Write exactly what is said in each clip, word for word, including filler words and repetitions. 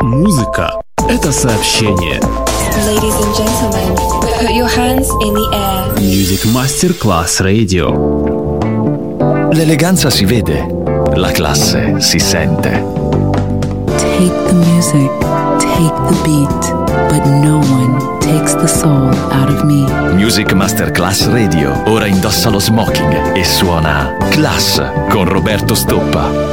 Музыка — это сообщение. Ladies and gentlemen, put your hands in the air. Music Masterclass Radio. L'eleganza si vede, la classe si sente. Take the music, take the beat, but no one takes the soul out of me. Music Masterclass Radio ora indossa lo smoking e suona Class con Roberto Stoppa.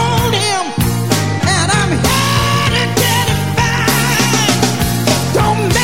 Don't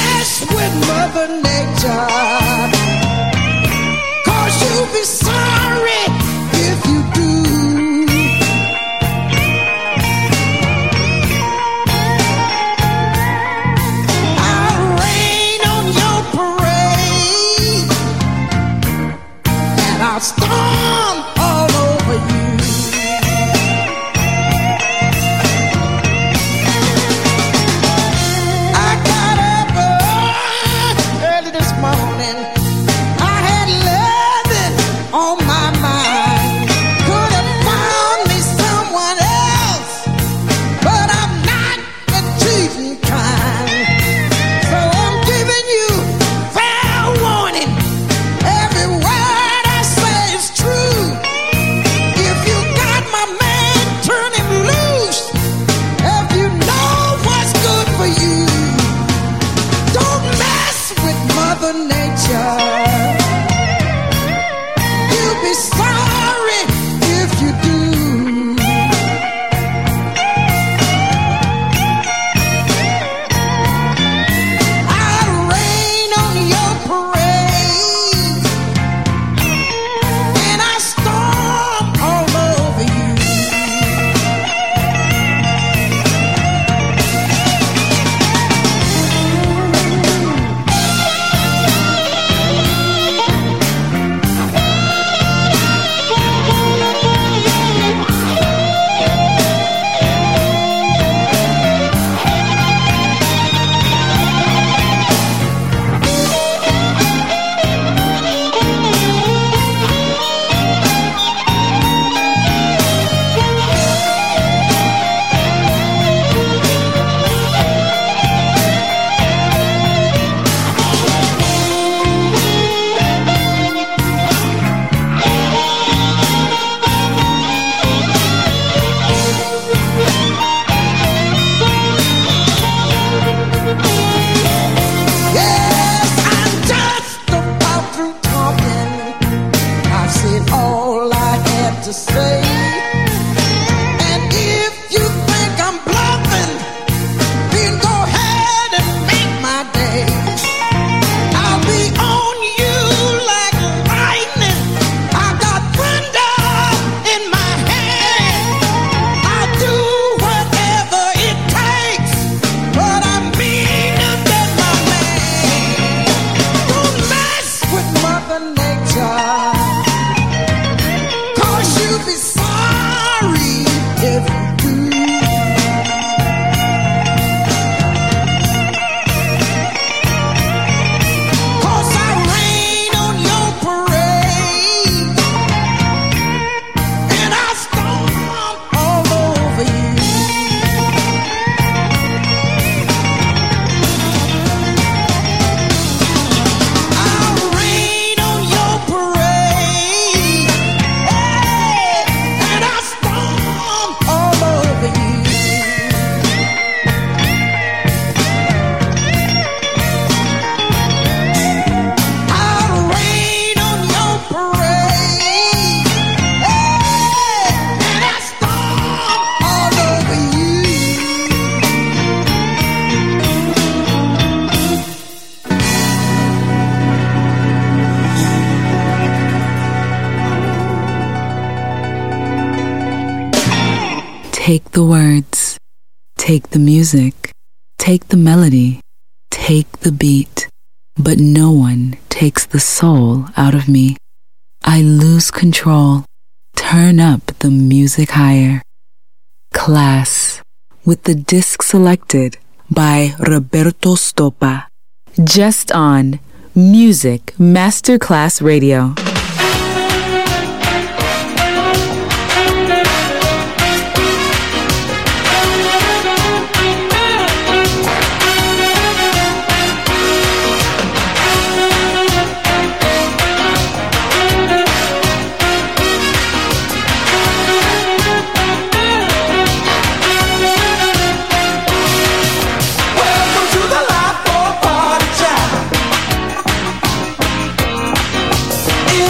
take the words, take the music, take the melody, take the beat, but no one takes the soul out of me. I lose control, turn up the music higher. Class, with the disc selected by Roberto Stoppa. Just on Music Masterclass Radio. In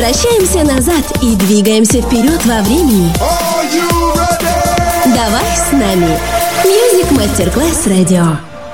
Возвращаемся назад и двигаемся вперед во времени. Давай с нами. Music Masterclass Radio.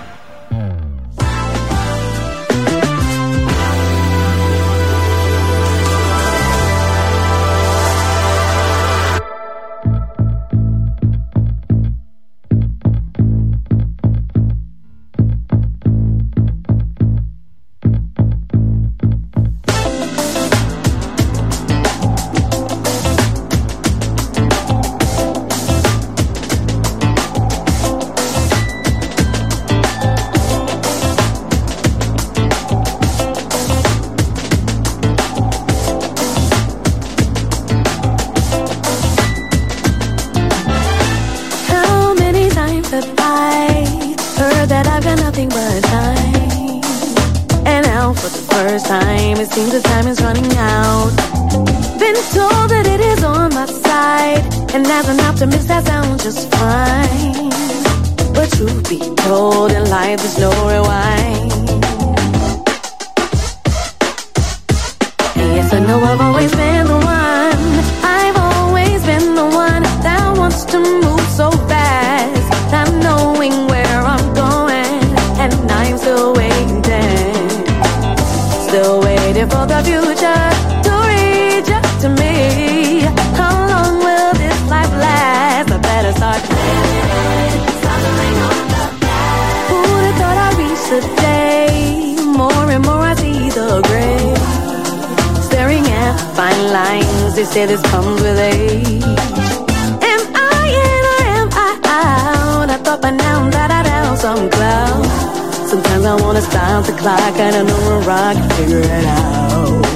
Say this comes with age. Am I in or am I out? I thought by now that I'd have some clout. Sometimes I wanna stop the clock and I know where I can figure it out.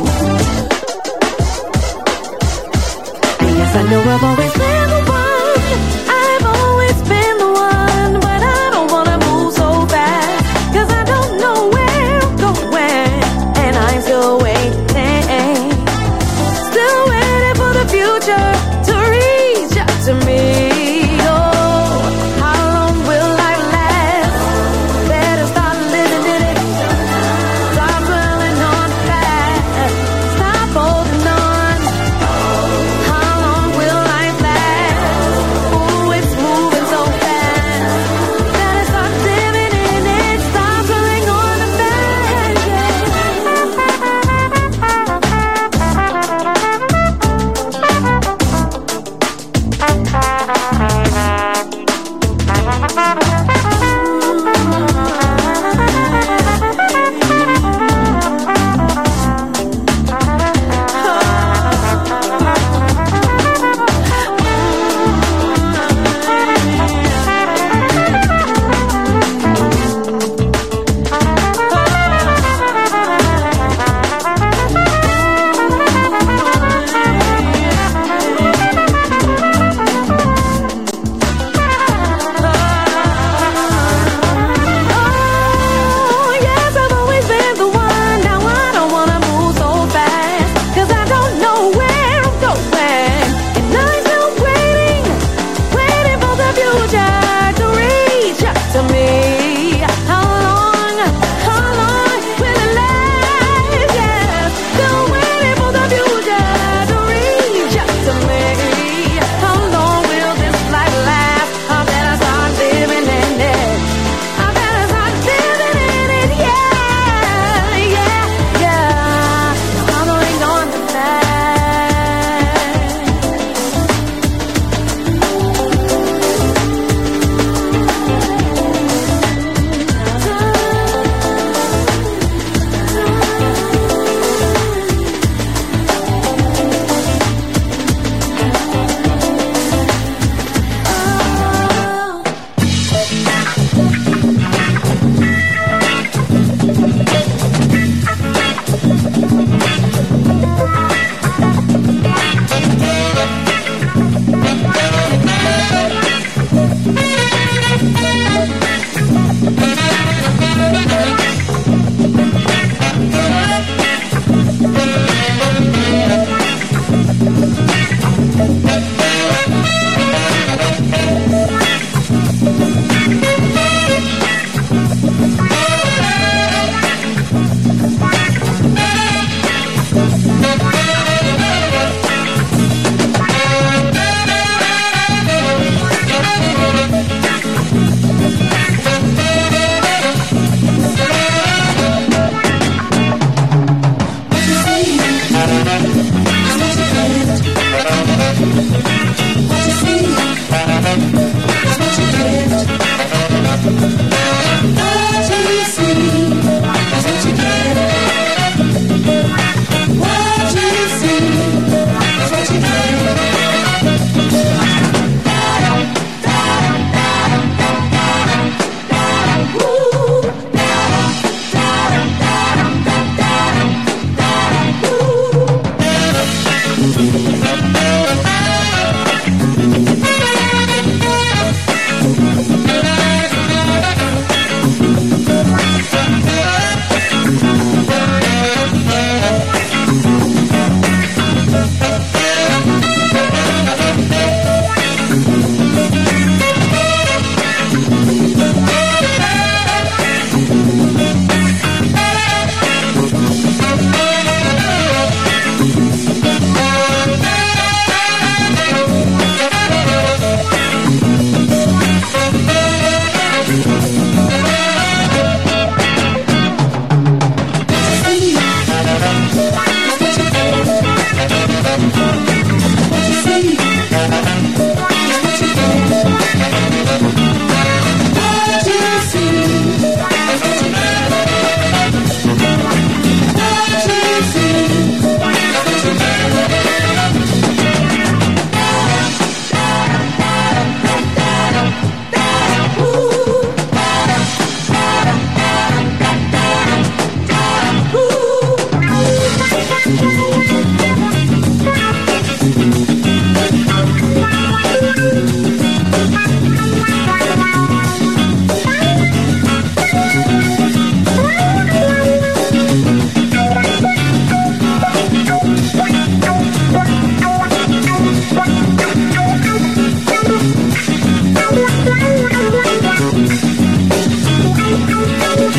And yes, I know I've always been the one. I've always been the one, but I don't wanna move so fast, 'cause I don't know where I'm going, and I'm still waiting. Future to reach out to me. Oh, how long will life last? Better start living in it. Stop dwelling on fast. Stop holding on. How long will life last?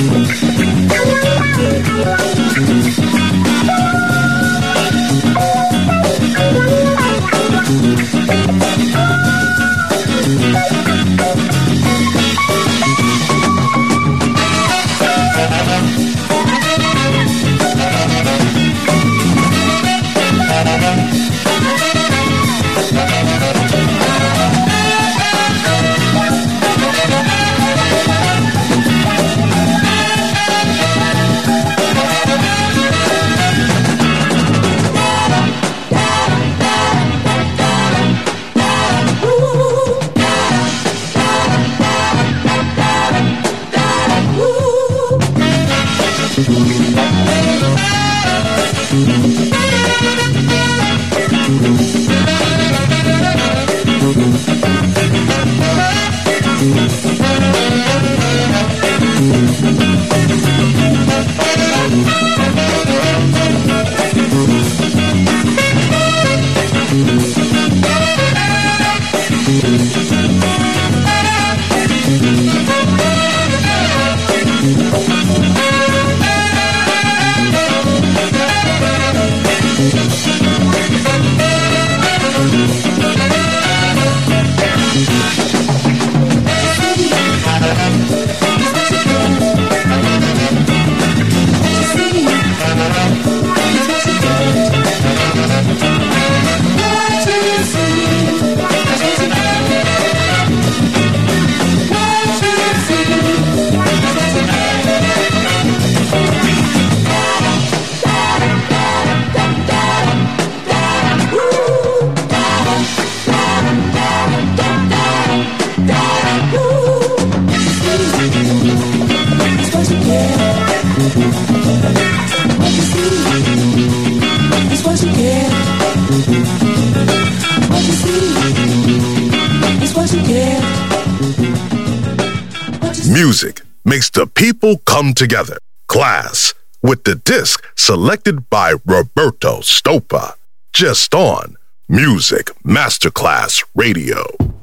Music makes the people come together. Class, with the disc selected by Roberto Stoppa. Just on Music Masterclass Radio.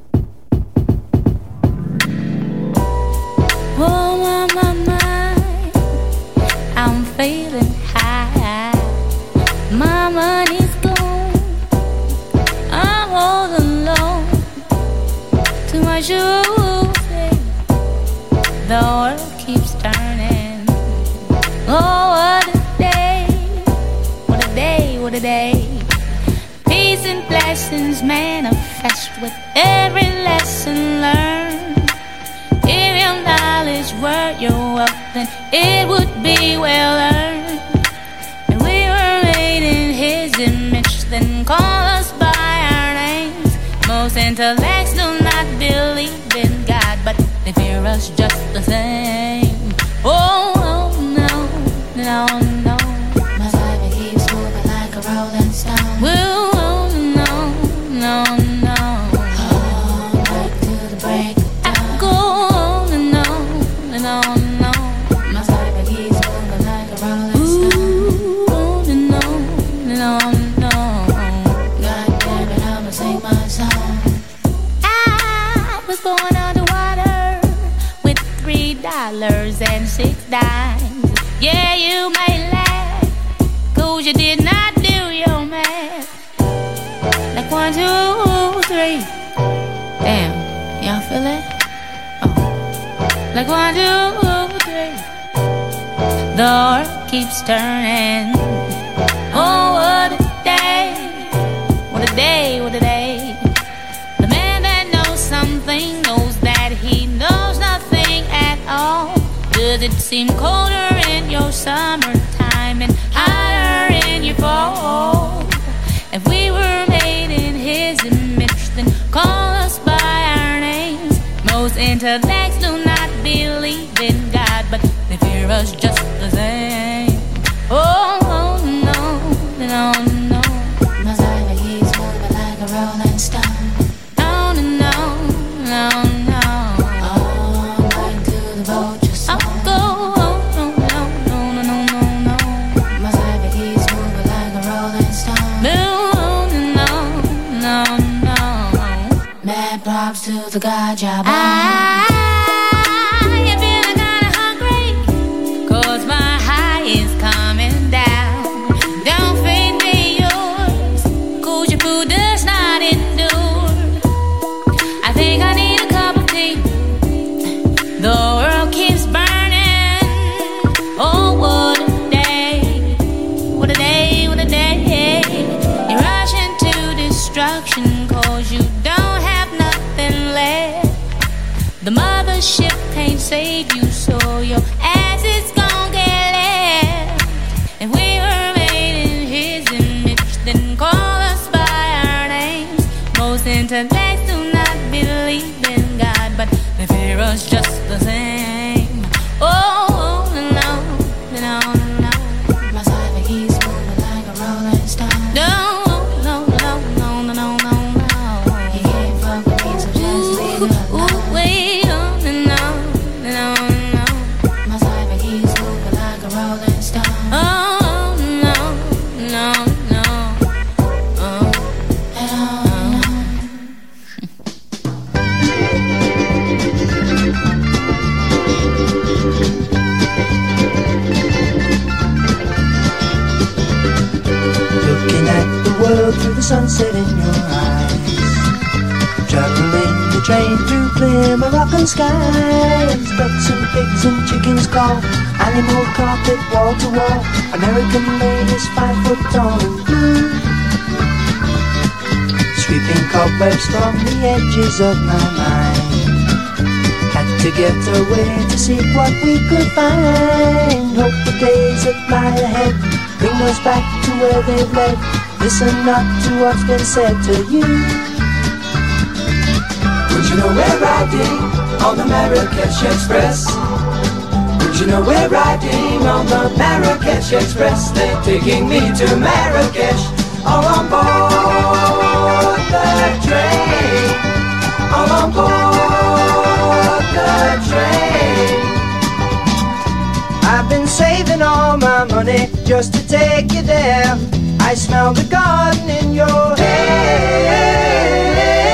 Oh, my, my, my, I'm feeling high. My money's gone. I'm all alone. To my shoes, the world keeps turning. Oh, what a day, what a day, what a day. Peace and blessings manifest with every lesson learned. If your knowledge were your wealth, then it would be well earned. And we were made in His image, then call us by our names. Most intellects do not believe in God, but they fear us just the same. Oh, oh no, no, no. My life keeps moving like a rolling stone. Well, oh, no, no, no. Oh, back to the break of dawn. I go on and on and on and on. My life keeps moving like a rolling stone. Ooh, on and on and on and on. God damn it, I'ma sing my song. I was born underwater with three dollars and six dimes. Yeah, you may laugh, cause you did not do your math. Like one, two, three. Damn, y'all feel that? Oh. Like one, two, three. The earth keeps turning. Oh, what a day. What a day, what a day. The man that knows something knows that he knows nothing at all. Does it seem colder in your summertime and hotter in your fall? If we were made in His image, then call us by our names. Most intellects do not believe in God, but they fear us just the same. Oh, oh no, no, no. My life keeps moving like a rolling stone. No, no, no, no, no. Oh, back to the boat just I'll go. Oh, no, no, no, no, no, no. My life keeps moving like a rolling stone. No, no, no, no. Mad props to the God job. I, you feeling kinda hungry? sunset in your eyes. Traveling the train through clear Moroccan skies. Ducks and pigs and chickens call. Animal carpet wall to wall. American ladies five foot tall and blue. Sweeping cobwebs from the edges of my mind. Had to get away to see what we could find. Hope the days that lie ahead bring us back to where they've led. Listen not to what's been said to you. Would you know we're riding on the Marrakesh Express? Would you know we're riding on the Marrakesh Express? They're taking me to Marrakesh, all on board the train, all on board the train. I've been saving all my money just to take you there. I smell the garden in your hair.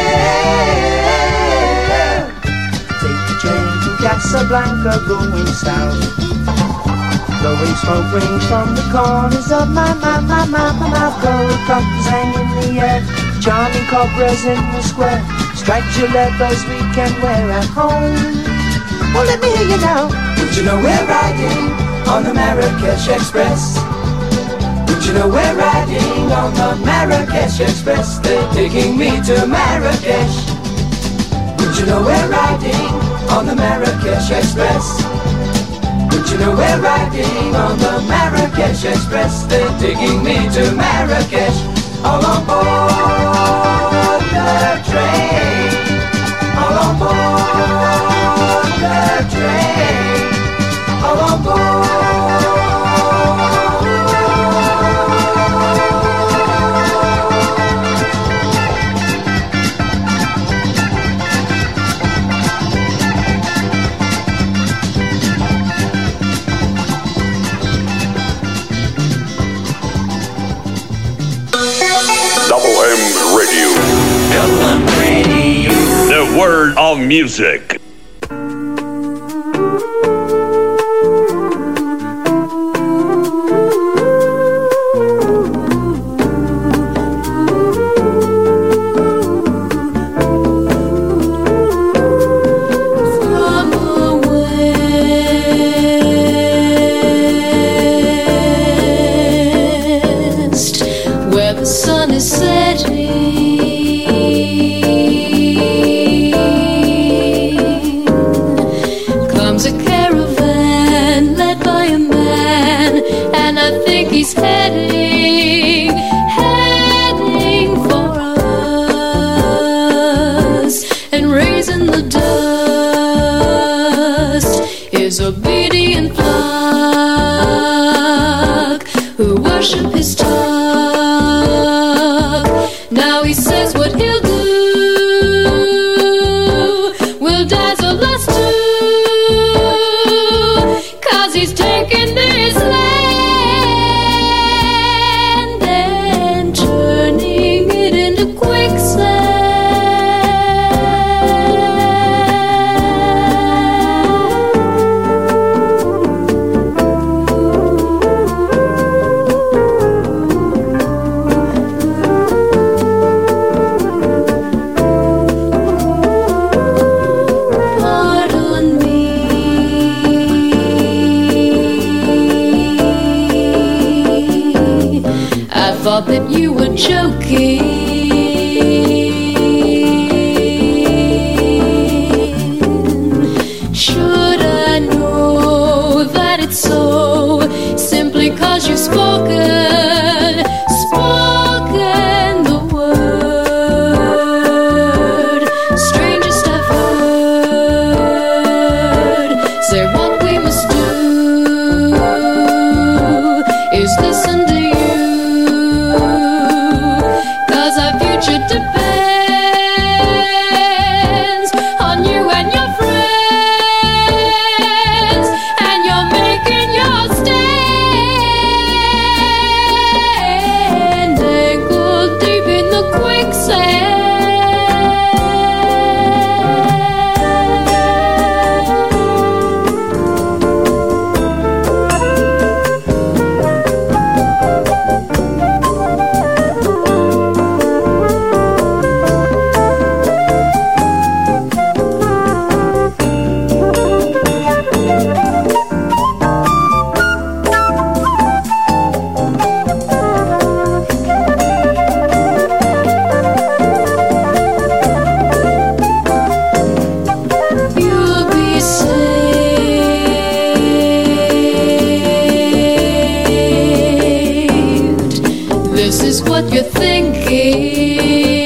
Take the train to Casablanca going south. Blowing smoke rings from the corners of my, my, my, my, my mouth. Gold cups hang in the air, charming cobras in the square. Striped leathers we can wear at home. Well, let me hear you now. Would you know we're riding on the Marrakesh Express? Would you know we're riding on the Marrakesh Express? They're taking me to Marrakesh. Would you know we're riding on the Marrakesh Express? Would you know we're riding on the Marrakesh Express? They're taking me to Marrakesh, all on board the train, all on board the train, all on board. Double M Radio. Double M Radio. The world of music. Is listen to you, 'cause knows what you're thinking.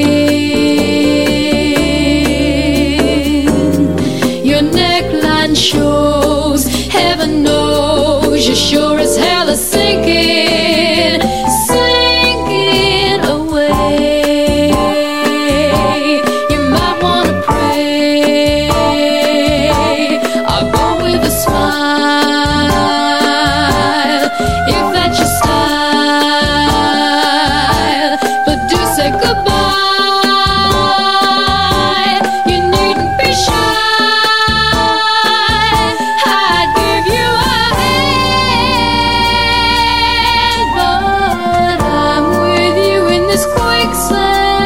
Your neckline shows, heaven knows, you're sure as hell are sinking, sinking away. You might wanna pray, I'll go with a smile, if that's your style, but do say goodbye. You needn't be shy. I'd give you a hand, but I'm with you in this quicksand.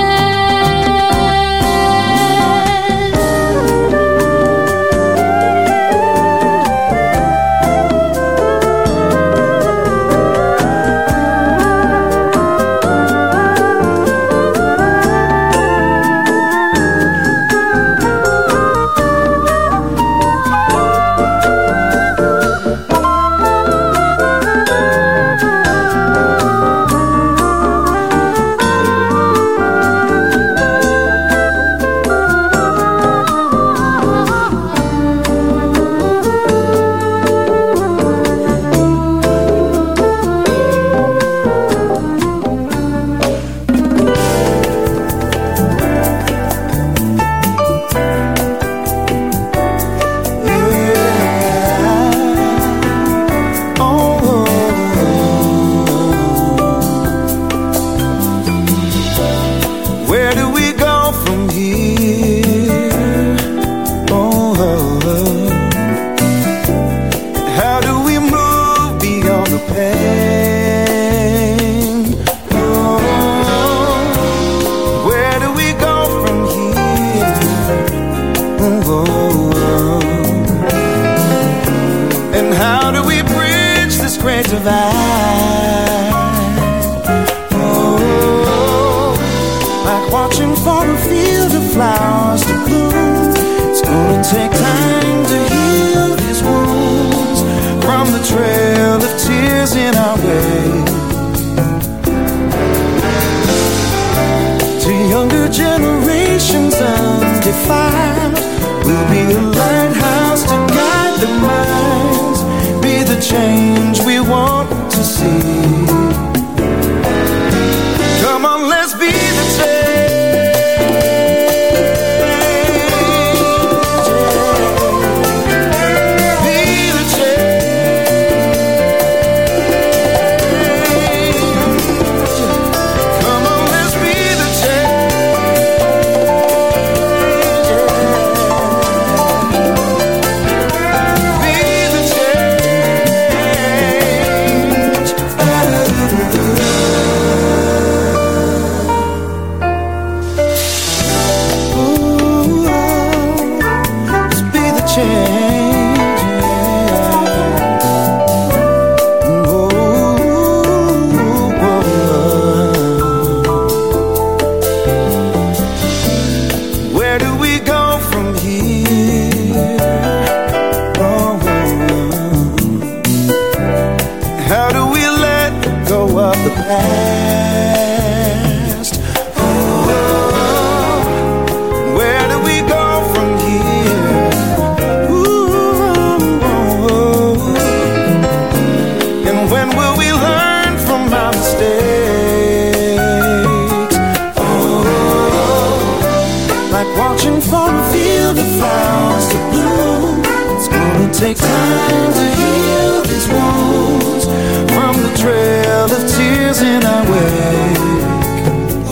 Where do we go from here? Oh, how do we move beyond the pain? Oh, where do we go from here? Oh, and how do we bridge this great divide? Watching for a field of flowers to bloom. It's gonna take time to heal these wounds from the trail of tears in our way. To younger generations undefiled, we'll be a lighthouse to guide the minds, be the change we want to see. Come on, let's be the change. Take time to heal these wounds from the trail of tears in our wake.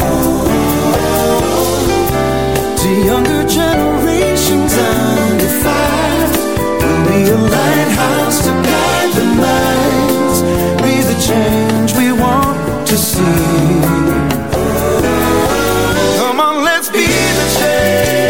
To younger generations undefiled, we'll be a lighthouse to guide the minds, be the change we want to see. Come on, let's be the change.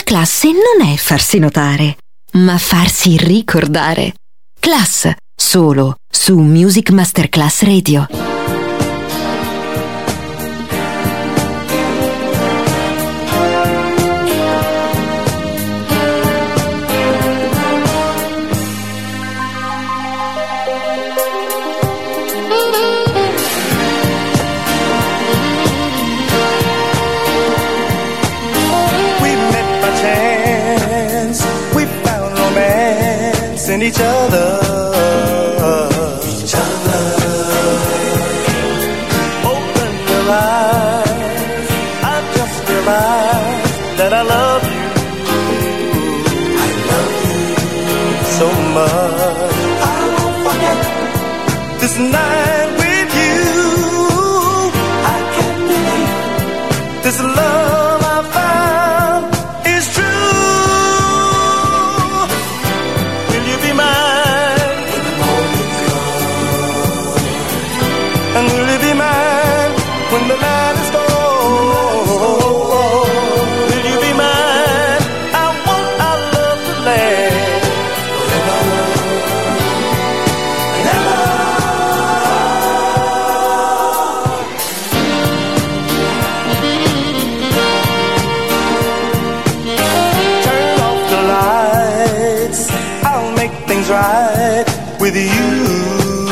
classe non è farsi notare, ma farsi ricordare. Class, solo su Music Masterclass Radio. In each other, each other. Open your eyes. I've just realized that I love you. I love you so much. I won't forget this night with you. I can't believe this love I found is true. And will you be mine when the night is gone? Will you be mine? I want our love to last forever, never. Turn off the lights, I'll make things right with you.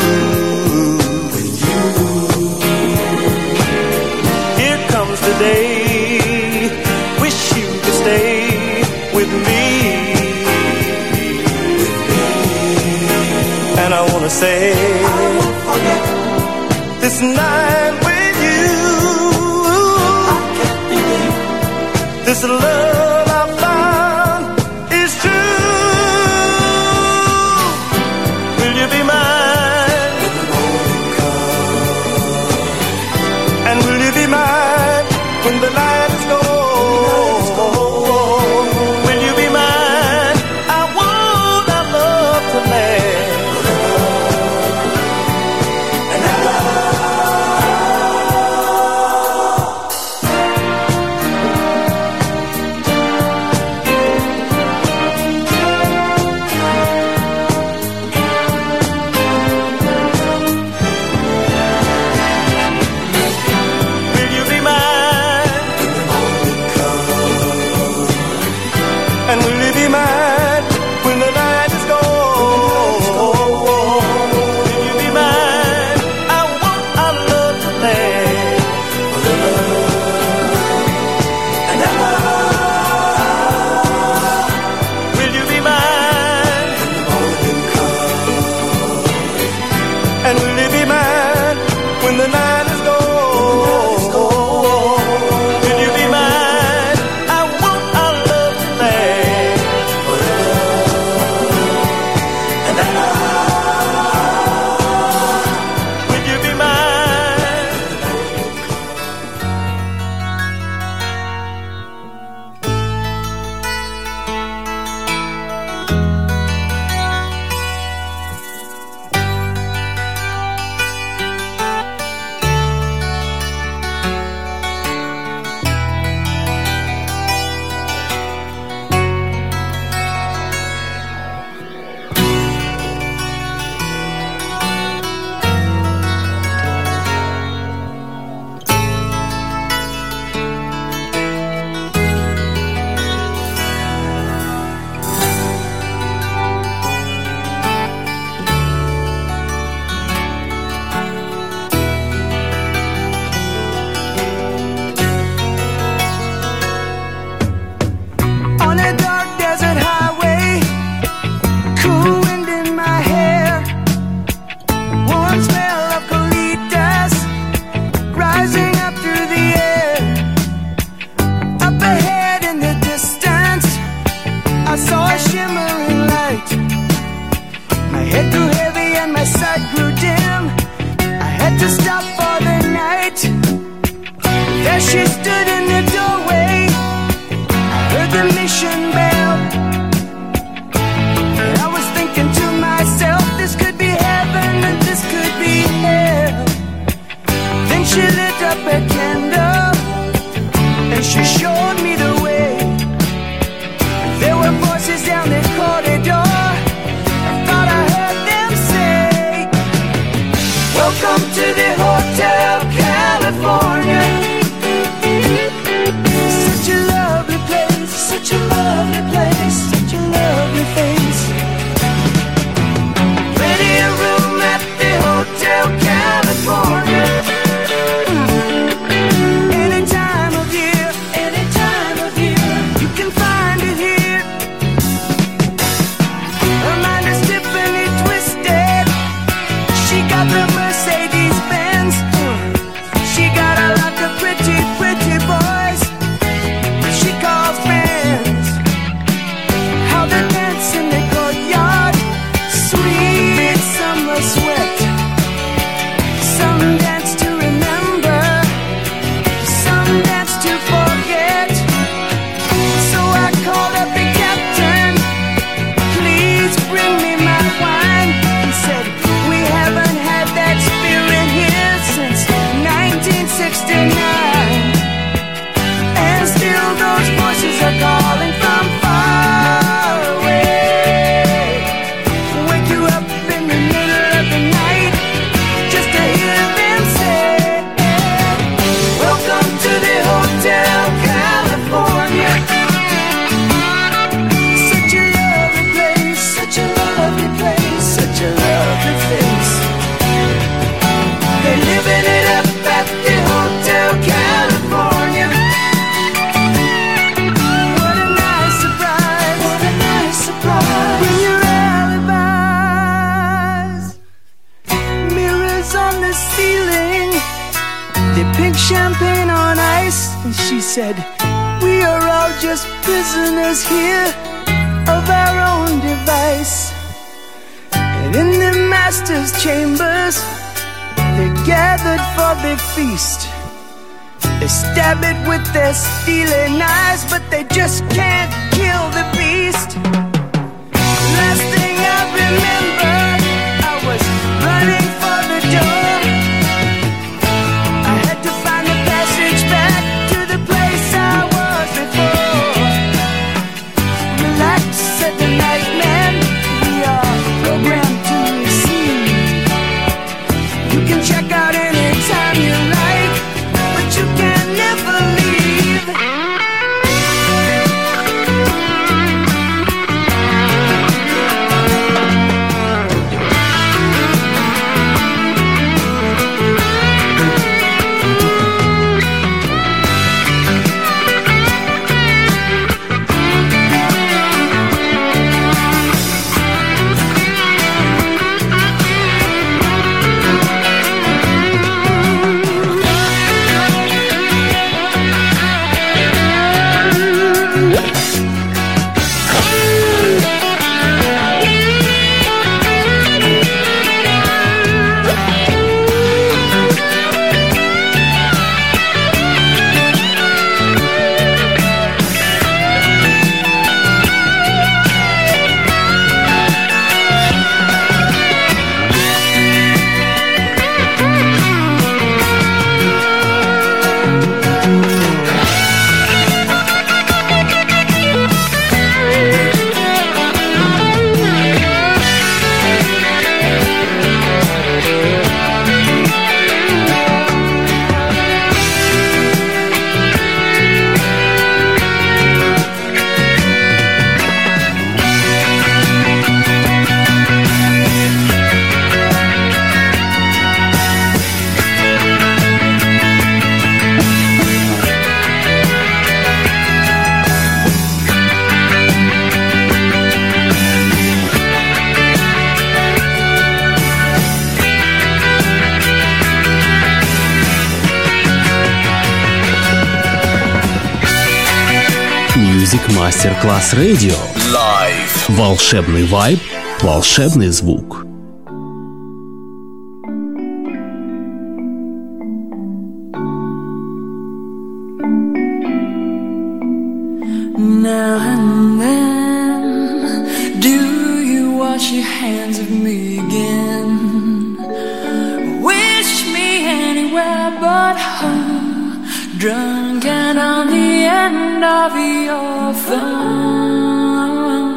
Today, wish you could stay with me, with me. And I wanna say, I won't forget this night with you. I can't believe this love I found is true. Will you be mine when the morning comes? And will you be mine when the night is gone? Will you be mine? I want our love to last and she showed me the way. said, we are all just prisoners here of our own device. And in the master's chambers, they gathered for the feast. They stab it with their steely knives, but they just can't kill the beast. Last thing I remember, I was running for the door. I had to find the passage back to the place I was before. Relax, said the night man, we are programmed to receive. You can check out anytime you like, but you can never leave. Мастер-класс радио. Live. Волшебный вайб, волшебный звук. Now and then, do you wash your hands of me again? Wish me anywhere but home, drunk and on the end of your phone.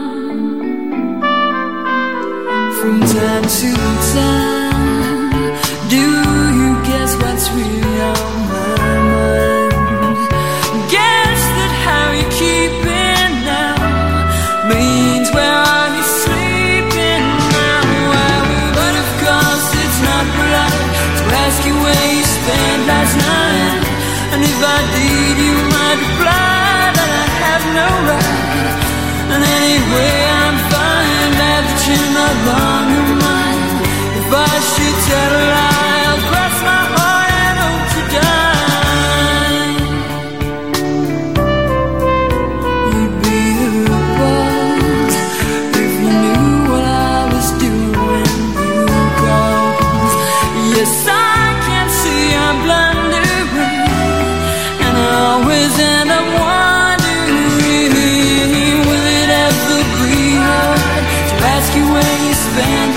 From time to time, do you guess what's really on my mind? Guess that how you keep it now means where are you sleeping now? But of course it's not polite to ask you where you spent last night. And if I did, you might reply that I have no right. And anyway, I'm fine, glad that you're not on your mind. If I should tell a lie, I'll cross my heart and hope to die. You'd be the boss if you knew what I was doing. You called. Yes, I can see I'm blundering, and I always end up wondering, will it ever be hard to ask you where you spend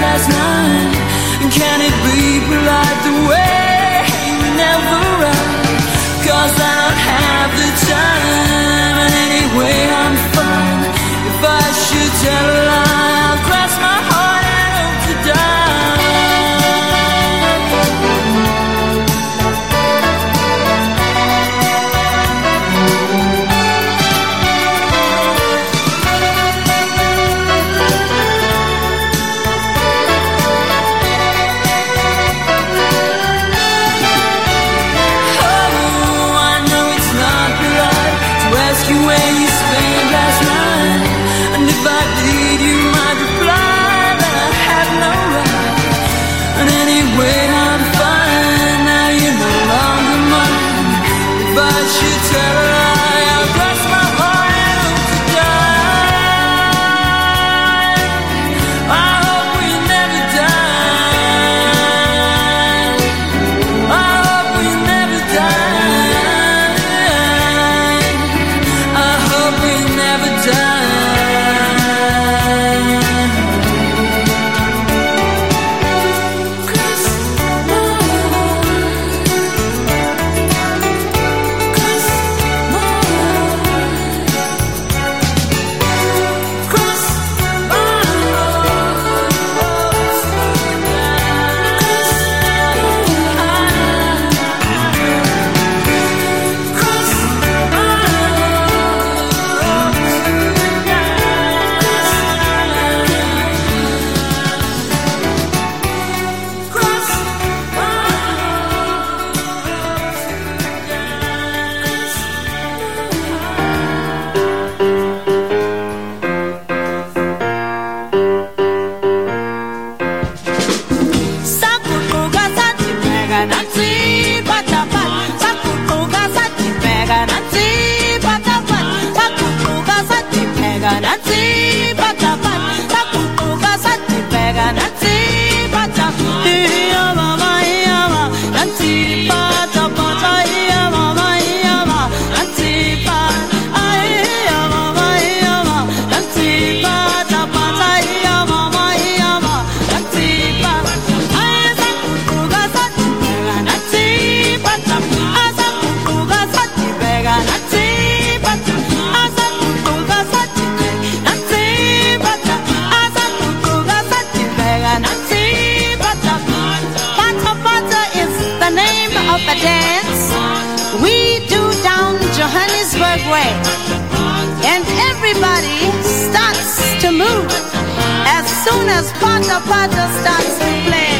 way, and everybody starts to move as soon as Pata Pata starts to play.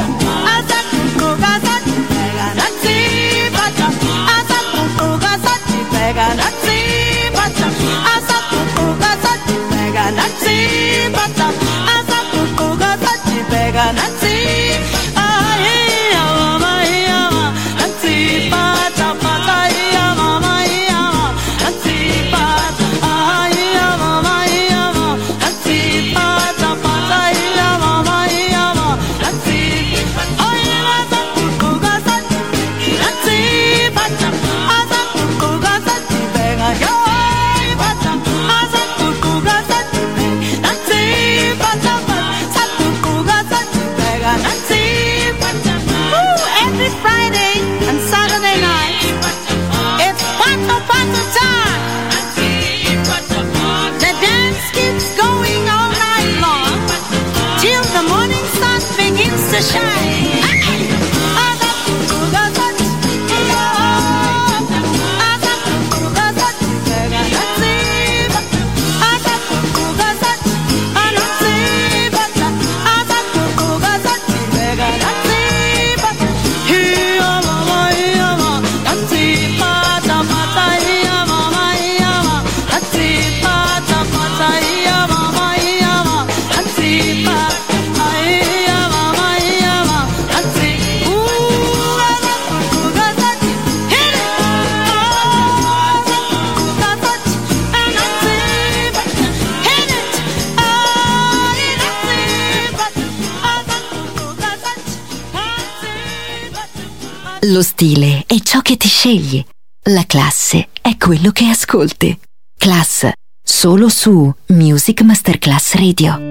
Lo stile è ciò che ti scegli. La classe è quello che ascolti. Class, solo su Music Masterclass Radio.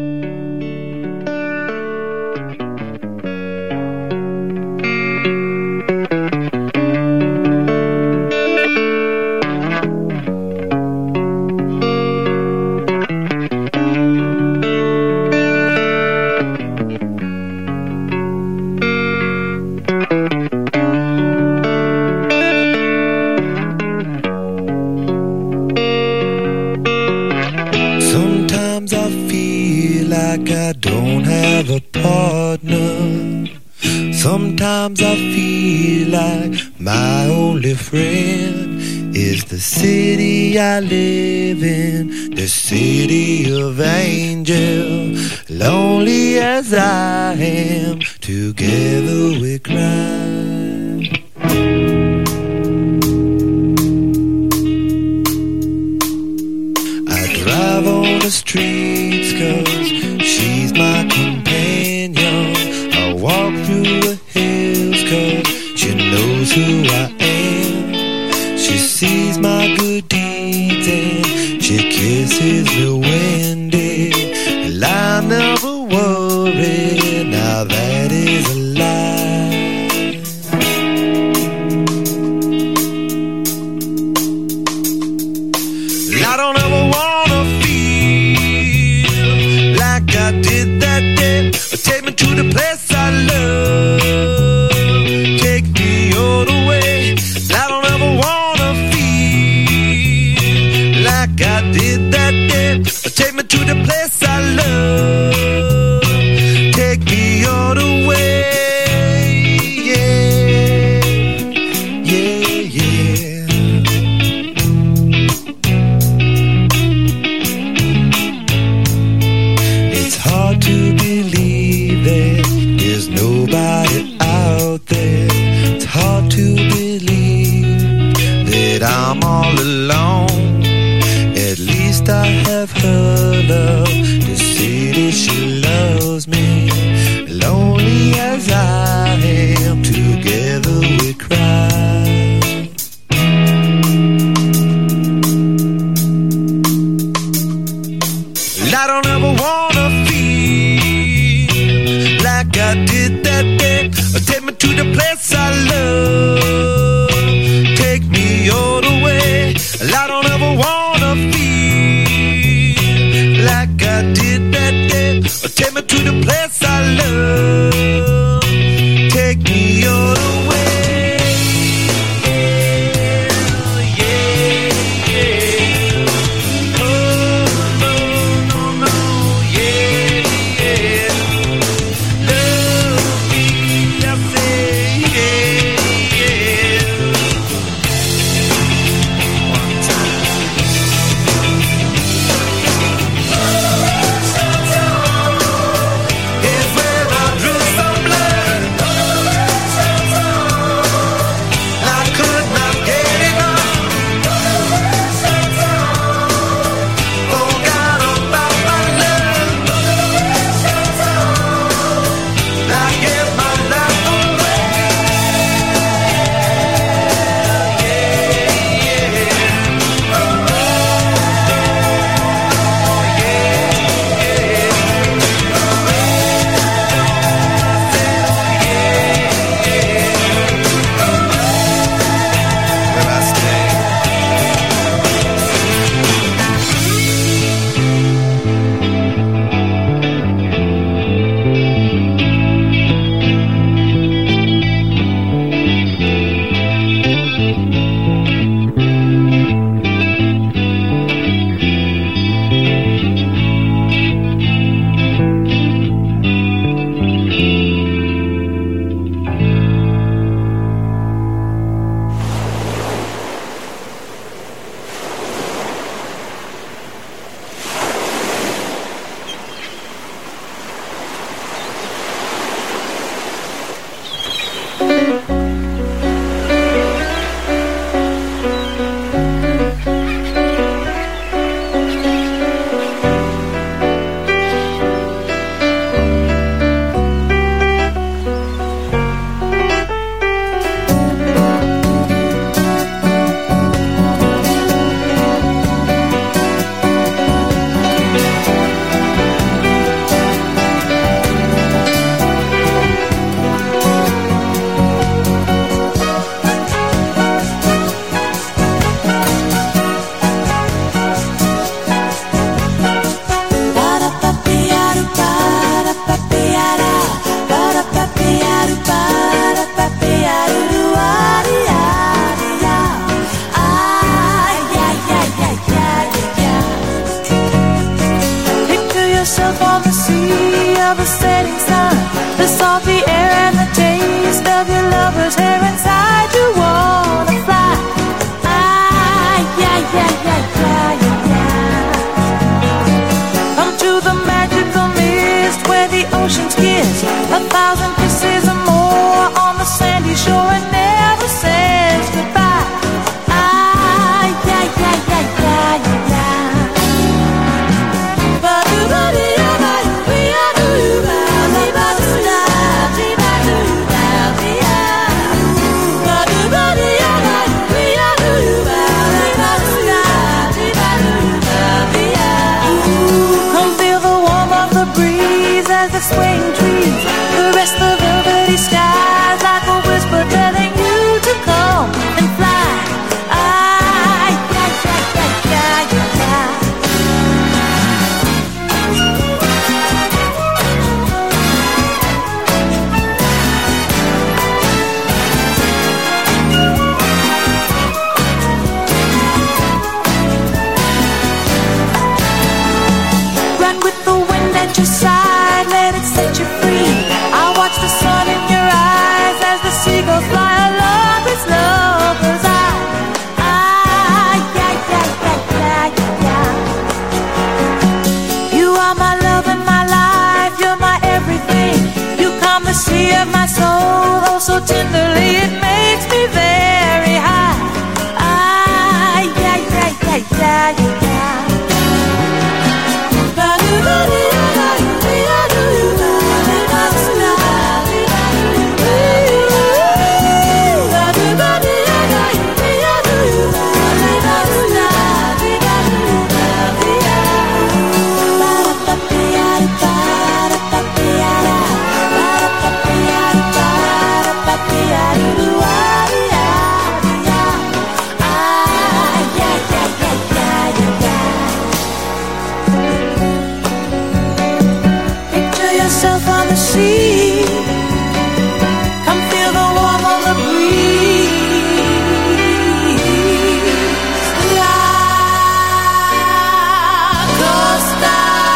Sometimes I feel like my only friend is the city I live in, the city of angels. Lonely as I am, together we cry. I drive on the streets 'cause she's my companion. I walk through the hills 'cause she knows who I am. She sees my good deeds and she kisses me when dead. And I never worry, now that is a lie. I don't ever wanna feel like I did that day. Take me to the place I love. Take me all the way. I don't ever wanna feel like I did that day. Take me to the place I love. Take me all the way. Yeah, yeah, yeah. It's hard to believe that there's nobody out there. It's hard to believe that I'm all alone. At least I have her love to see that she loves me. Lonely as I am, together we cry. I don't ever wanna feel like I did that day. Take me to the place I love. Take me all the way. I don't ever wanna feel like I did that day. Take me to the place I love. Take me all the way. Yeah, yeah, yeah. yourself on the sea of a setting sun, the salty air and the taste of your lover's hair inside. You wanna fly. Ah, yeah, yeah, yeah, yeah, yeah, yeah. Come to the magical mist where the ocean's kiss, a thousand kisses or more on the sandy shore and never says goodbye. Ah, yeah, yeah, yeah, yeah, yeah, yeah. The swaying trees, caress the velvety skies like a whisper telling you to come and fly. Ah, yeah, yeah, yeah, yeah, yeah. Run with the wind at your side, let it set you free. I watch the sun in your eyes as the seagulls fly along this lover's eye. Ah, yeah, yeah, yeah, yeah, yeah, yeah. You are my love and my life, you're my everything. You calm the sea of my soul, oh so tenderly it makes me very high. Ah, yeah, yeah, yeah, yeah, yeah, yeah. Yourself on the sea, come feel the warmth on the breeze. La Costa.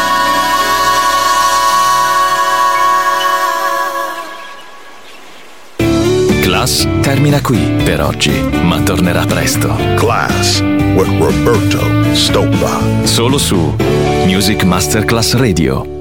Class termina qui per oggi, ma tornerà presto. Class with Roberto Stoppa. Solo su Music Masterclass Radio.